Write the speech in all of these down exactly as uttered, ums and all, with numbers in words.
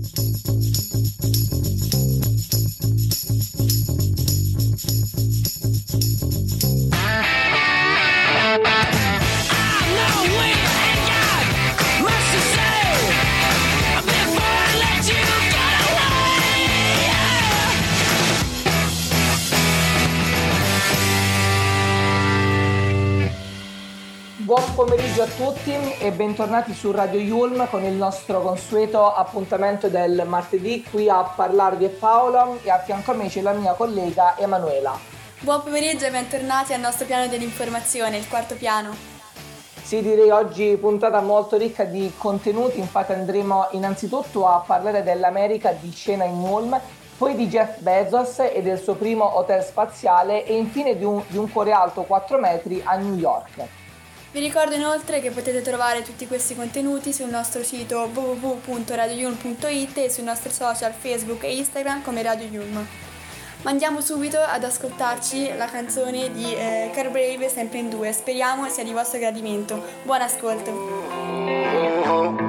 Buon pomeriggio a tutti e bentornati su Radio Yulm con il nostro consueto appuntamento del martedì. Qui a parlarvi è Paolo e a fianco a me c'è la mia collega Emanuela. Buon pomeriggio e bentornati al nostro piano dell'informazione, il quarto piano. Sì, direi oggi puntata molto ricca di contenuti, infatti andremo innanzitutto a parlare dell'America di scena in Yulm, poi di Jeff Bezos e del suo primo hotel spaziale e infine di un, di un cuore alto quattro metri a New York. Vi ricordo inoltre che potete trovare tutti questi contenuti sul nostro sito w w w punto radio yulm punto i t e sui nostri social Facebook e Instagram come Radio Yulm. Ma andiamo subito ad ascoltarci la canzone di eh, Car Brave, sempre in due. Speriamo sia di vostro gradimento. Buon ascolto.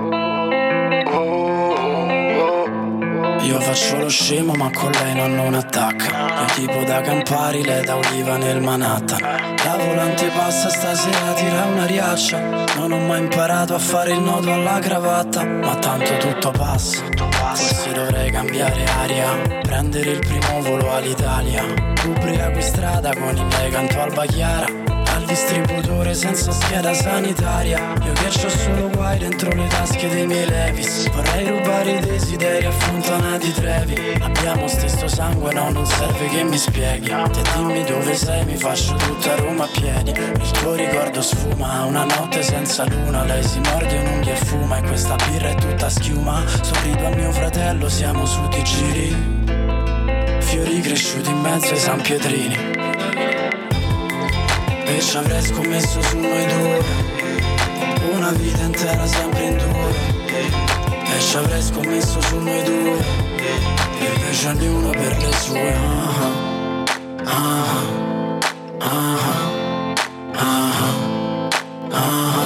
Io faccio lo scemo ma con lei non, non attacca. Io tipo da Campari, lei da Oliva nel Manhattan. La volante passa stasera, tira una riaccia. Non ho mai imparato a fare il nodo alla cravatta, ma tanto tutto passa. Forse dovrei cambiare aria, prendere il primo volo all'Italia. Ubriaco in strada con i miei canto Alba Chiara. Al distributore senza scheda sanitaria. Io che c'ho solo guai dentro le tasche dei miei Levis. Vorrei rubare i desideri a Fontanati Trevi. Abbiamo stesso sangue, no, non serve che mi spieghi. Te dimmi dove sei, mi faccio tutta Roma a piedi. Il tuo ricordo sfuma, una notte senza luna. Lei si morde un'unghia e fuma, e questa birra è tutta schiuma. Sorrido a mio fratello, siamo su di giri. Fiori cresciuti in mezzo ai San Pietrini. E ci avrei scommesso su noi due, una vita intera sempre in due. E ci avrei scommesso su noi due, e invece ognuno per le sue. Ah, ah, ah, ah, ah,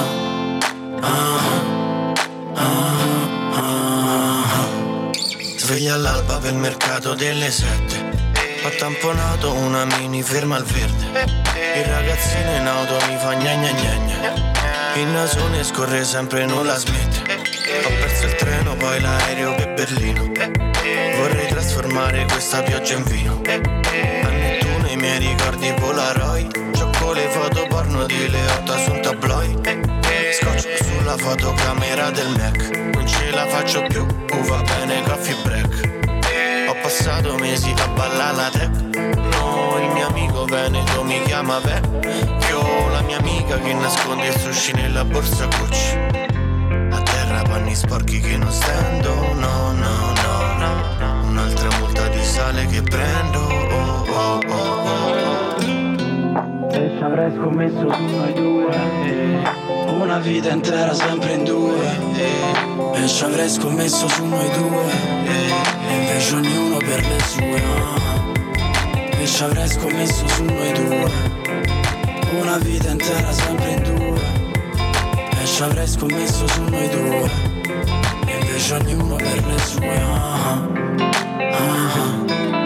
ah, ah. Sveglia all'alba per il mercato delle sette. Ho tamponato una mini ferma al verde. Il ragazzino in auto mi fa gna gna gna gna. Il nasone scorre sempre e non la smette. Ho perso il treno, poi l'aereo per Berlino. Vorrei trasformare questa pioggia in vino. A Nettuno i miei ricordi Polaroid. Gioco le foto porno di Leotta su un tabloid. Scotch sulla fotocamera del Mac. Non ce la faccio più, uh, va bene coffee break. Ho passato mesi a ballare la tech. No, il mio amico Veneto mi chiama vecchio. La mia amica che nasconde il sushi nella borsa Gucci. A terra panni sporchi che non stendo. No, no, no, no. Un'altra multa di sale che prendo. Oh, oh, oh, oh. E ci avrei scommesso su noi due, eh. Una vita intera sempre in due, eh. E ci avrei scommesso su noi due, eh. E invece ognuno per le sue. Ah. E ci avrei scommesso su noi due, una vita intera sempre in due. E ci avrei scommesso su noi due, e invece ognuno per le sue. Ah, ah, ah,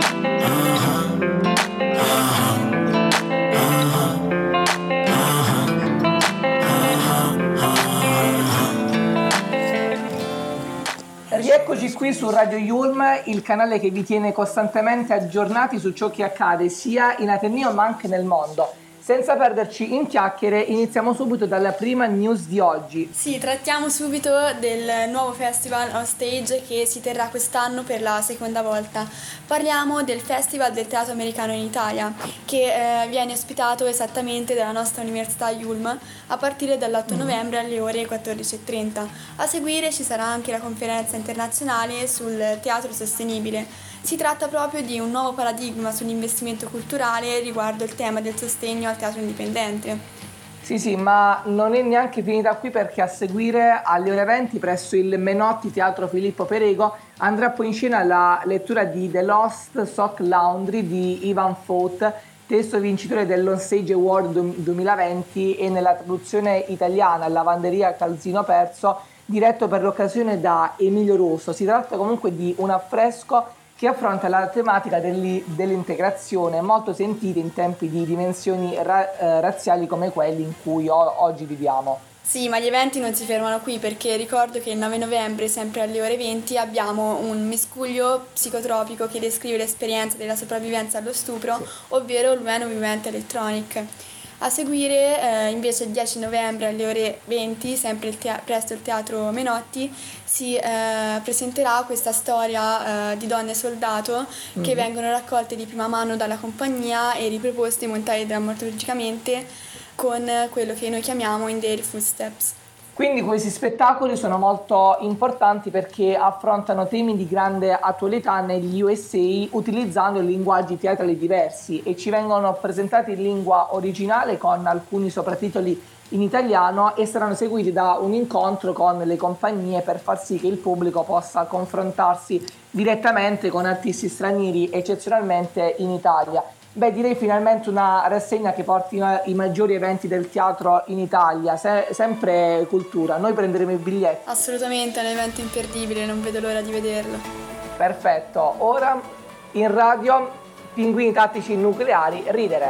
Rieccoci qui su Radio Yulm, il canale che vi tiene costantemente aggiornati su ciò che accade sia in Ateneo ma anche nel mondo. Senza perderci in chiacchiere, iniziamo subito dalla prima news di oggi. Sì, trattiamo subito del nuovo festival on stage che si terrà quest'anno per la seconda volta. Parliamo del Festival del Teatro Americano in Italia, che eh, viene ospitato esattamente dalla nostra Università Yulm a partire dall'otto novembre alle ore quattordici e trenta. A seguire ci sarà anche la conferenza internazionale sul teatro sostenibile. Si tratta proprio di un nuovo paradigma sull'investimento culturale riguardo il tema del sostegno al teatro indipendente. Sì, sì, ma non è neanche finita qui, perché a seguire alle ore venti presso il Menotti Teatro Filippo Perego andrà poi in scena la lettura di The Lost Sock Laundry di Ivan Foth, testo vincitore dell'Onstage Award duemilaventi, e nella traduzione italiana Lavanderia Calzino Perso diretto per l'occasione da Emilio Russo. Si tratta comunque di un affresco che affronta la tematica dell'integrazione, molto sentita in tempi di dimensioni ra- eh, razziali come quelli in cui o- oggi viviamo. Sì, ma gli eventi non si fermano qui, perché ricordo che il nove novembre, sempre alle ore venti, abbiamo un miscuglio psicotropico che descrive l'esperienza della sopravvivenza allo stupro, sì. ovvero l'Ueno Vivente Electronic. A seguire, eh, invece, il dieci novembre alle ore venti, sempre il te- presso il Teatro Menotti, si eh, presenterà questa storia eh, di donne soldato che mm-hmm. vengono raccolte di prima mano dalla compagnia e riproposte e montate drammaturgicamente con quello che noi chiamiamo In Their Footsteps. Quindi questi spettacoli sono molto importanti perché affrontano temi di grande attualità negli U S A utilizzando linguaggi teatrali diversi e ci vengono presentati in lingua originale con alcuni sottotitoli in italiano e saranno seguiti da un incontro con le compagnie per far sì che il pubblico possa confrontarsi direttamente con artisti stranieri eccezionalmente in Italia. Beh, direi finalmente una rassegna che porti i maggiori eventi del teatro in Italia, Se- sempre cultura. Noi prenderemo i biglietti. Assolutamente, è un evento imperdibile, non vedo l'ora di vederlo. Perfetto, ora in radio Pinguini Tattici Nucleari, ridere.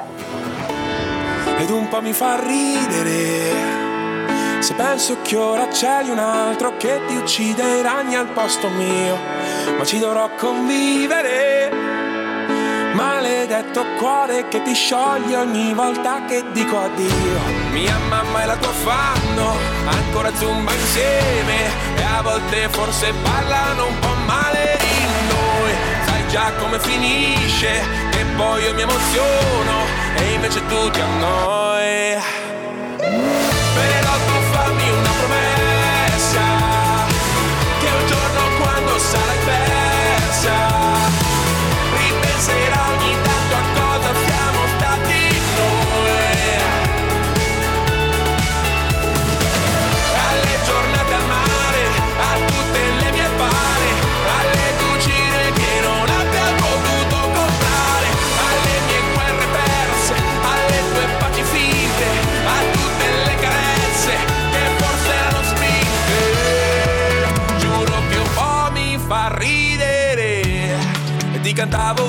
Ed un po' mi fa ridere se penso che ora c'è un altro che ti uccide i ragni al posto mio, ma ci dovrò convivere. Maledetto cuore che ti scioglie ogni volta che dico addio. Mia mamma e la tua fanno ancora zumba insieme e a volte forse parlano un po' male di noi. Sai già come finisce, che poi io mi emoziono e invece tu ti annoi. Però tu fammi una promessa, che un giorno quando sarai persa ripenserà ogni tanto a cosa siamo stati noi, alle giornate al mare, a tutte le mie pare, alle cucine che non abbia potuto comprare, alle mie guerre perse, alle tue paci finte, a tutte le carezze che forse erano spinte. Giuro che un po' mi fa ridere e ti cantavo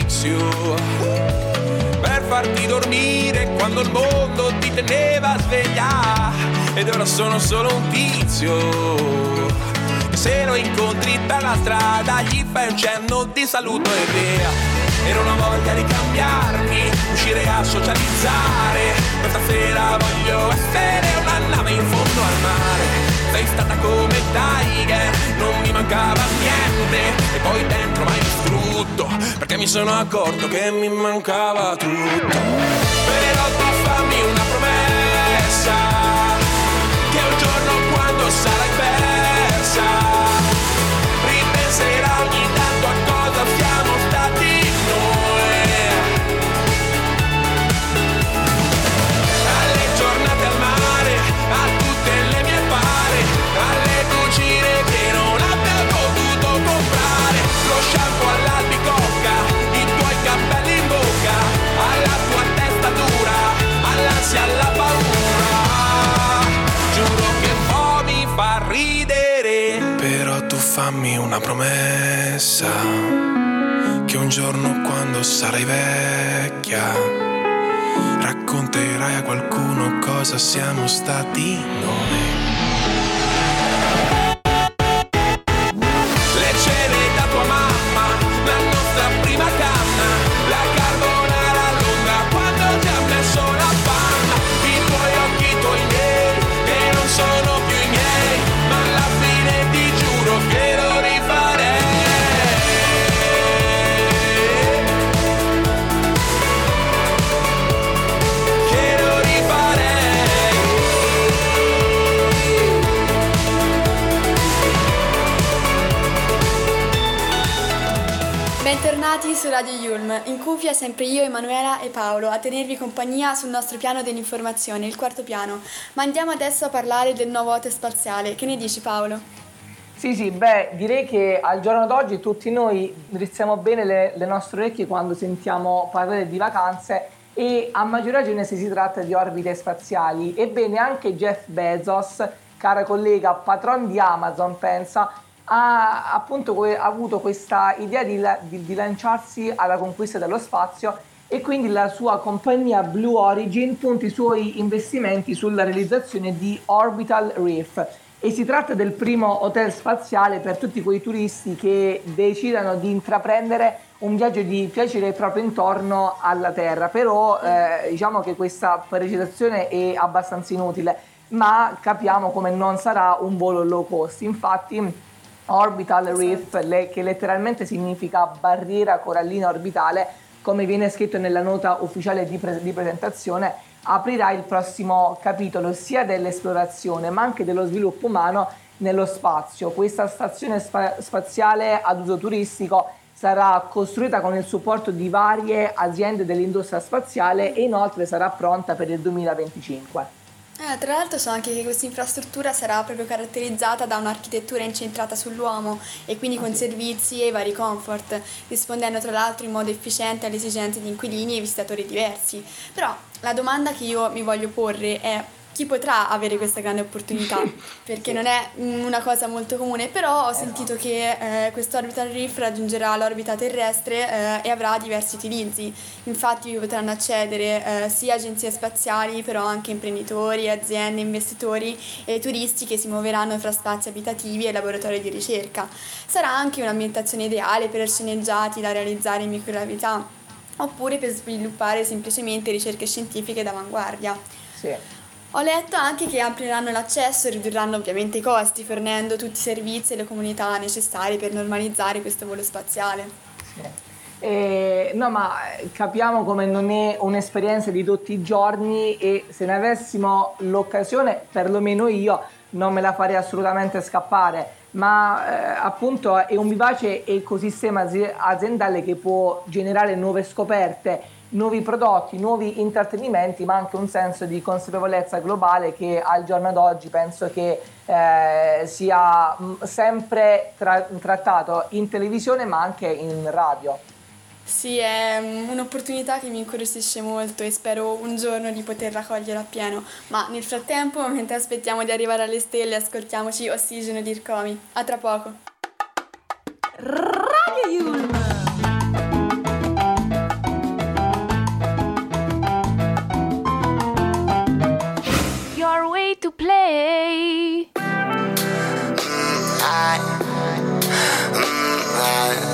per farti dormire quando il mondo ti teneva sveglia. Ed ora sono solo un tizio che se lo incontri per la strada gli fai un cenno di saluto e via. E non ho voglia di cambiarmi, uscire a socializzare. Questa sera voglio essere una nave in fondo al mare. Sei stata come Tiger, non mi mancava niente. E poi dentro m'hai distrutto, perché mi sono accorto che mi mancava tutto. Però tu fammi una promessa, che un giorno quando sarai persa ripenserai ogni tanto a cosa siamo stati noi, alle giornate al mare, a tutte le mie pare, alle cucine che non abbia potuto comprare, lo shampoo all'albicocca, i tuoi capelli in bocca, alla tua testa dura, all'ansia, alla paura. Giuro che un po' mi fa ridere. Però tu fammi una promessa, che un giorno quando sarai vecchia racconterai a qualcuno cosa siamo stati noi. Le cene da tua mamma, la nostra prima canna, la carbonara lunga quando ti ha messo la panna, i tuoi occhi, i tuoi miei, che non sono più i miei, ma alla fine ti giuro che lo rifarei. Che lo rifarei. Bentornati su Radio Yulm, in cuffia sempre io, Emanuela e Paolo, a tenervi compagnia sul nostro piano dell'informazione, il quarto piano. Ma andiamo adesso a parlare del nuovo hotel spaziale. Che ne dici, Paolo? Sì, sì, beh, direi che al giorno d'oggi tutti noi drizziamo bene le, le nostre orecchie quando sentiamo parlare di vacanze e a maggior ragione se si tratta di orbite spaziali. Ebbene, anche Jeff Bezos cara collega, patron di Amazon, pensa, ha appunto que- ha avuto questa idea di, la- di- di lanciarsi alla conquista dello spazio, e quindi la sua compagnia Blue Origin punta i suoi investimenti sulla realizzazione di Orbital Reef, e si tratta del primo hotel spaziale per tutti quei turisti che decidano di intraprendere un viaggio di piacere proprio intorno alla Terra. Però eh, diciamo che questa precisazione è abbastanza inutile, ma capiamo come non sarà un volo low cost. Infatti Orbital Reef, le, che letteralmente significa barriera corallina orbitale, come viene scritto nella nota ufficiale di, pre- di presentazione, aprirà il prossimo capitolo sia dell'esplorazione ma anche dello sviluppo umano nello spazio. Questa stazione spa- spaziale ad uso turistico sarà costruita con il supporto di varie aziende dell'industria spaziale e inoltre sarà pronta per il duemilaventicinque. Eh, tra l'altro so anche che questa infrastruttura sarà proprio caratterizzata da un'architettura incentrata sull'uomo e quindi con servizi e vari comfort, rispondendo tra l'altro in modo efficiente alle esigenze di inquilini e visitatori diversi. Però la domanda che io mi voglio porre è: chi potrà avere questa grande opportunità? Perché non è una cosa molto comune, però ho sentito che eh, questo Orbital Reef raggiungerà l'orbita terrestre eh, e avrà diversi utilizzi. Infatti vi potranno accedere eh, sia agenzie spaziali, però anche imprenditori, aziende, investitori e turisti che si muoveranno fra spazi abitativi e laboratori di ricerca. Sarà anche un'ambientazione ideale per sceneggiati da realizzare in microgravità, oppure per sviluppare semplicemente ricerche scientifiche d'avanguardia. Sì. Ho letto anche che amplieranno l'accesso e ridurranno ovviamente i costi, fornendo tutti i servizi e le comunità necessarie per normalizzare questo volo spaziale. Sì. Eh, no, ma capiamo come non è un'esperienza di tutti i giorni, e se ne avessimo l'occasione, perlomeno io, non me la farei assolutamente scappare. Ma eh, appunto è un vivace ecosistema aziendale che può generare nuove scoperte, nuovi prodotti, nuovi intrattenimenti, ma anche un senso di consapevolezza globale che al giorno d'oggi penso che eh, sia mh, sempre tra- trattato in televisione ma anche in radio. Sì, è un'opportunità che mi incuriosisce molto e spero un giorno di poterla cogliere appieno. Ma nel frattempo, mentre aspettiamo di arrivare alle stelle, ascoltiamoci Ossigeno di Ircomi. A tra poco. Radio Yulm. Your way to play. I, I,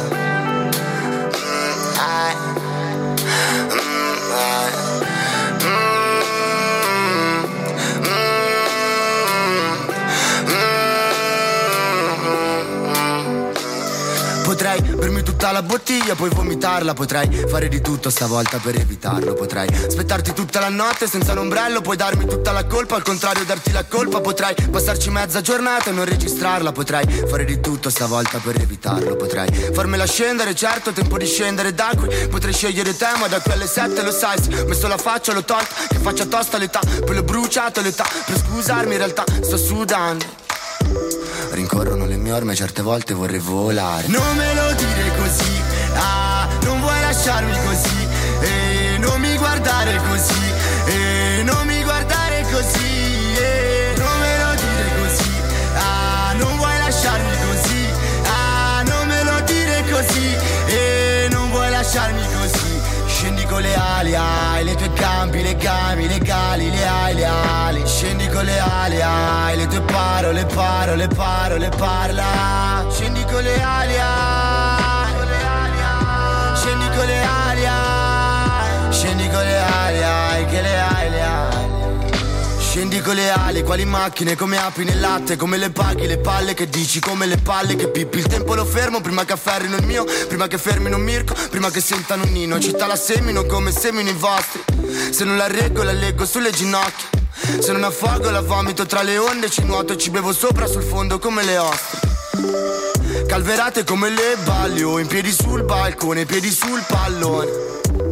Potrei bermi tutta la bottiglia, poi vomitarla. Potrei fare di tutto stavolta per evitarlo. Potrei aspettarti tutta la notte senza un ombrello, poi darmi tutta la colpa, al contrario darti la colpa. Potrei passarci mezza giornata e non registrarla. Potrei fare di tutto stavolta per evitarlo. Potrei farmela scendere, certo, tempo di scendere da qui. Potrei scegliere te, ma da qui alle sette lo sai, se ho messo la faccia l'ho tolta, che faccia tosta l'età, poi l'ho bruciato l'età. Per scusarmi in realtà sto sudando. Rincorrono le mie orme, certe volte vorrei volare. Non me lo dire così, ah, non vuoi lasciarmi così, e non mi guardare così, e non mi guardare così, e non me lo dire così, ah, non vuoi lasciarmi così, ah, non me lo dire così, e non vuoi lasciarmi così. Scendi con le ali, hai le tue gambe, le gambe, legali, le hai, le ali. Scendi con le ali, hai le tue parole, parole, parole, parla. Scendi con le ali, hai, scendi con le ali, hai, scendi con le ali, hai, che le hai, le hai. Scendi con le ali, quali macchine, come api nel latte, come le paghi, le palle che dici, come le palle che pippi. Il tempo lo fermo prima che afferrino il mio, prima che fermino un Mirko, prima che sentano un nino. Città la semino come semino i vostri. Se non la reggo la leggo sulle ginocchia. Se non affogo la vomito tra le onde, ci nuoto e ci bevo sopra sul fondo come le ostriche. Calverate come le balli, o in piedi sul balcone, piedi sul pallone.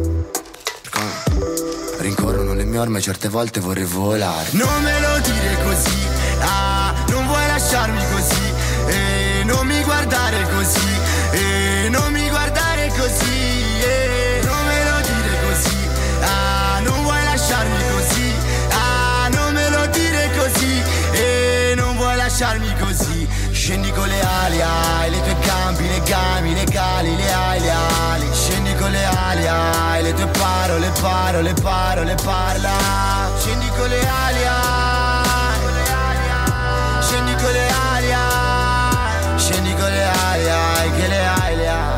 Rincorrono le mie orme, certe volte vorrei volare. Non me lo dire così, ah, non vuoi lasciarmi così, e non mi guardare così, e non mi guardare così, e non me lo dire così, ah, non vuoi lasciarmi così, ah, non me lo dire così, e non Scendi con le ali, ai, le tue gambe, le gambe, le gali, le ali, le ali. Scendi con le ali, ai, le tue parole, parole, parole, parla. Scendi con le ali, ai, scendi con le ali, ai, scendi con le ali, ai, che le hai, le hai.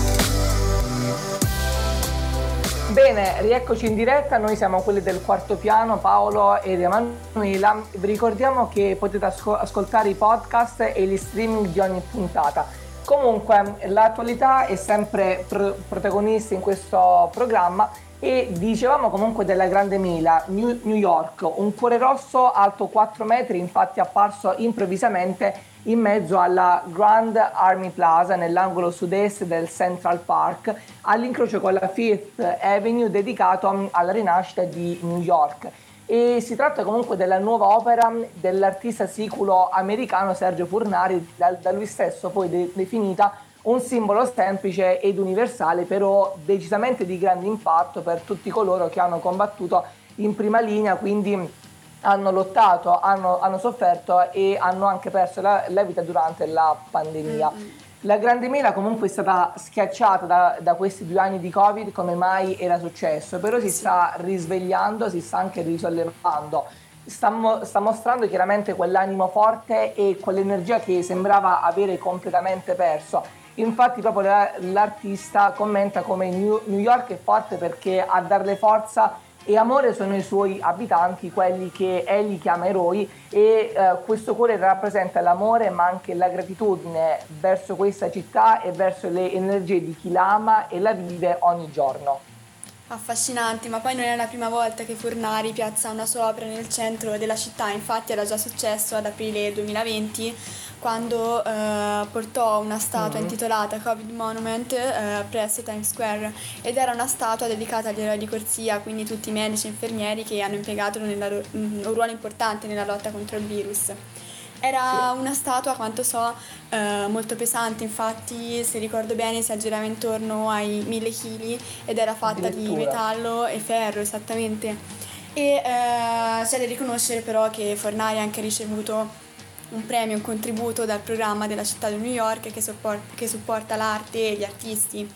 Bene, rieccoci in diretta, noi siamo quelli del quarto piano, Paolo ed Emanuela. Vi ricordiamo che potete asco- ascoltare i podcast e gli streaming di ogni puntata. Comunque, l'attualità è sempre pr- protagonista in questo programma e dicevamo comunque della Grande Mela, New, New York, un cuore rosso alto quattro metri, infatti apparso improvvisamente in mezzo alla Grand Army Plaza nell'angolo sud-est del Central Park, all'incrocio con la Fifth Avenue, dedicato alla rinascita di New York. E si tratta comunque della nuova opera dell'artista siculo americano Sergio Furnari, da, da lui stesso poi de- definita un simbolo semplice ed universale, però decisamente di grande impatto per tutti coloro che hanno combattuto in prima linea, quindi hanno lottato, hanno, hanno sofferto e hanno anche perso la, la vita durante la pandemia. Mm-hmm. La Grande Mela comunque è stata schiacciata da, da questi due anni di Covid, come mai era successo, però si sta risvegliando, si sta anche risollevando, sta, mo- sta mostrando chiaramente quell'animo forte e quell'energia che sembrava avere completamente perso. Infatti proprio la, l'artista commenta come New, New York è forte perché a darle forza e amore sono i suoi abitanti, quelli che egli chiama eroi, e eh, questo cuore rappresenta l'amore ma anche la gratitudine verso questa città e verso le energie di chi la ama e la vive ogni giorno. Affascinanti, ma poi non è la prima volta che Furnari piazza una sua opera nel centro della città, infatti era già successo ad aprile duemilaventi quando eh, portò una statua mm-hmm. intitolata Covid Monument eh, presso Times Square, ed era una statua dedicata agli eroi di corsia, quindi tutti i medici e infermieri che hanno impiegato nella, un ruolo importante nella lotta contro il virus. Era sì. una statua, a quanto so, eh, molto pesante, infatti se ricordo bene si aggirava intorno ai mille chili ed era fatta di metallo e ferro, esattamente. E eh, c'è da riconoscere però che Furnari ha anche ricevuto un premio, un contributo dal programma della città di New York che, support- che supporta l'arte e gli artisti.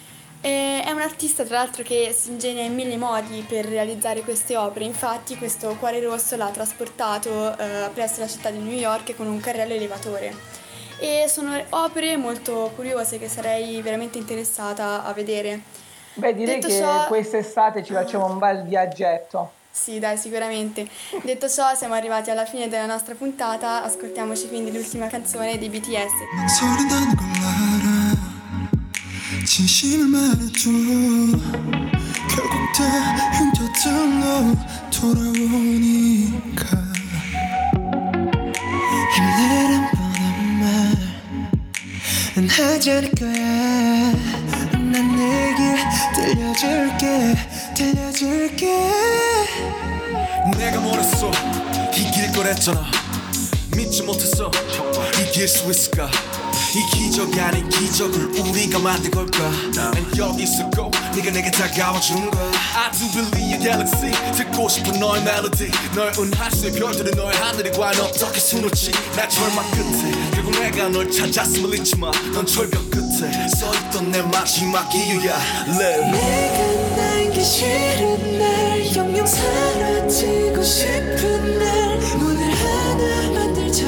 E è un artista tra l'altro che si ingegna in mille modi per realizzare queste opere, infatti questo cuore rosso l'ha trasportato eh, presso la città di New York con un carrello elevatore. E sono opere molto curiose che sarei veramente interessata a vedere. Beh, direi Detto che ciò, quest'estate ci facciamo un bel viaggetto. Sì, dai, sicuramente. Detto ciò, siamo arrivati alla fine della nostra puntata, ascoltiamoci quindi l'ultima canzone dei B T S. 진심을 말해줘 결국 다 흉터들로 돌아오니까 힘내란 뻔한 말은 하지 않을 거야 난 내게 들려줄게 들려줄게 내가 뭐랬어 이길 거랬잖아 믿지 못했어 이길 수 있을까 이 기적이 아닌 기적을 우리가 만든 걸까 난 여기 있었고 네가 내게 다가와준 거야 I do believe in galaxy 듣고 싶은 너의 멜로디 널 은하수의 별들은 너의 하늘이 과연 어떻게 수놓지 날 절망 끝에 결국 내가 널 찾았음을 잊지 마 넌 절벽 끝에 서있던 내 마지막 이유야 Live 내가 날기 싫은 날 영영 사라지고 싶은 날 문을 하나 만들자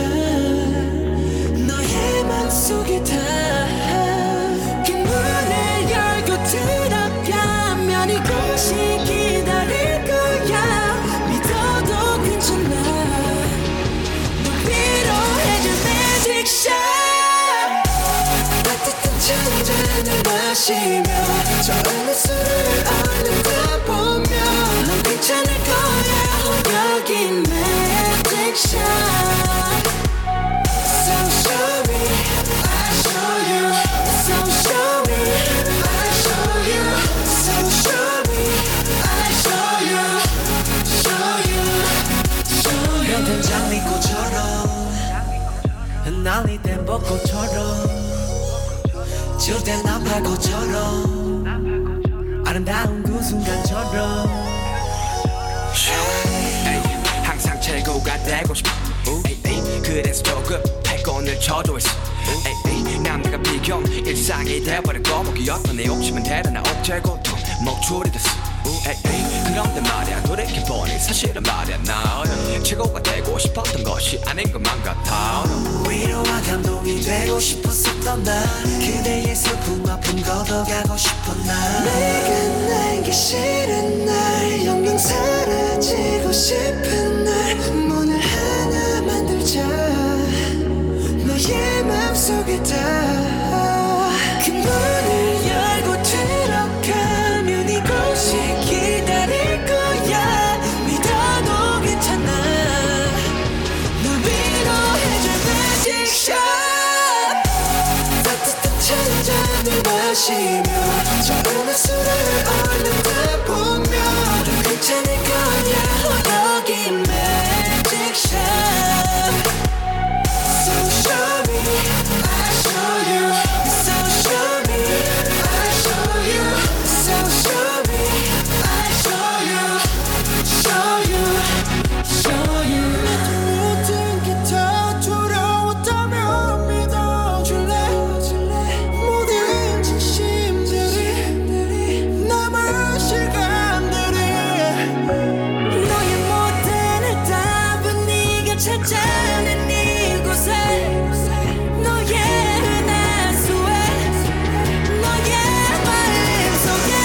속에 다 그 문을 열고 들어가면 이곳이 기다릴 거야 믿어도 괜찮아 널 위로해줄 magic shot 따뜻한 찬잔을 마시며 저런 술을 얼른다 보면 넌 괜찮을 거야 여기 magic shot So show me 날리던 벚꽃처럼 지울 땐 나팔꽃처럼 아름다운 그 순간처럼 항상 최고가 되고 싶어 그래서 조급해 물건을 쳐줘 있어 에이 에이 남들과 비교 일상이 돼버린 거북이었던 내 욕심은 대단한 억제 고통 목줄이 됐어 에이 에이 그런데 말야 돌이켜보니 사실은 말야 나 최고가 되고 싶었던 것이 아닌 것만 같아 위로와 감동이 되고 싶었었던 나 그대의 슬픔 아픔 걷어가고 싶었 나 내가 날기 싫은 날 영영 사라지고 싶은 날 문을 하나 만들자 너의 맘속에 다 그 문을 열고 들어가면 이곳이 기다릴 거야 믿어도 괜찮아 널 위로해줄 magic shot 따뜻한 찬잔을 마시며 저음의 술을 얼른 다 보며 괜찮을 거야 여기 magic shot So show me I show you So show me I show you So show me I show you Show you Show you 모든 게 다 두려웠다면 믿어줄래 모든 진심들이 남은 시간들이 너의 모든 답은 네가 찾아낸 이곳에 너의 은하수에 너의 마음속에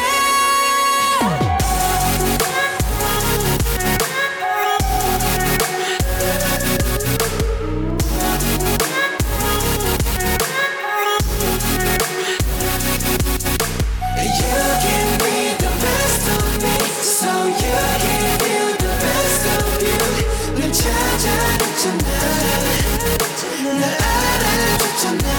You give me the best of me So you give you the best of you 널 찾아냈잖아 날 알아줬잖아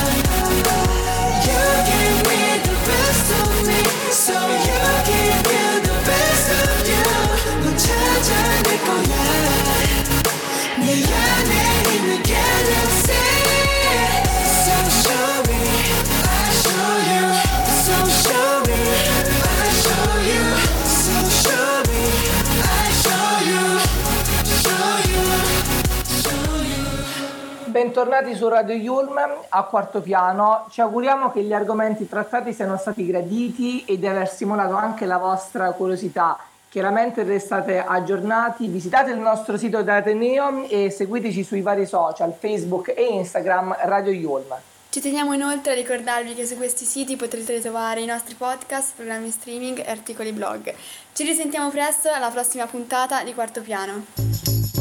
You give me the best of me So you give you the best of you 넌 찾아낼 거야 내 안에 있는 galaxy So show me I show you So show me I show you So show me I show you Show you Show you Bentornati su Radio Yulm a Quarto Piano. Ci auguriamo che gli argomenti trattati siano stati graditi e di aver stimolato anche la vostra curiosità. Chiaramente restate aggiornati, visitate il nostro sito d'Ateneo e seguiteci sui vari social, Facebook e Instagram Radio Yulm. Ci teniamo inoltre a ricordarvi che su questi siti potrete trovare i nostri podcast, programmi streaming e articoli blog. Ci risentiamo presto alla prossima puntata di Quarto Piano.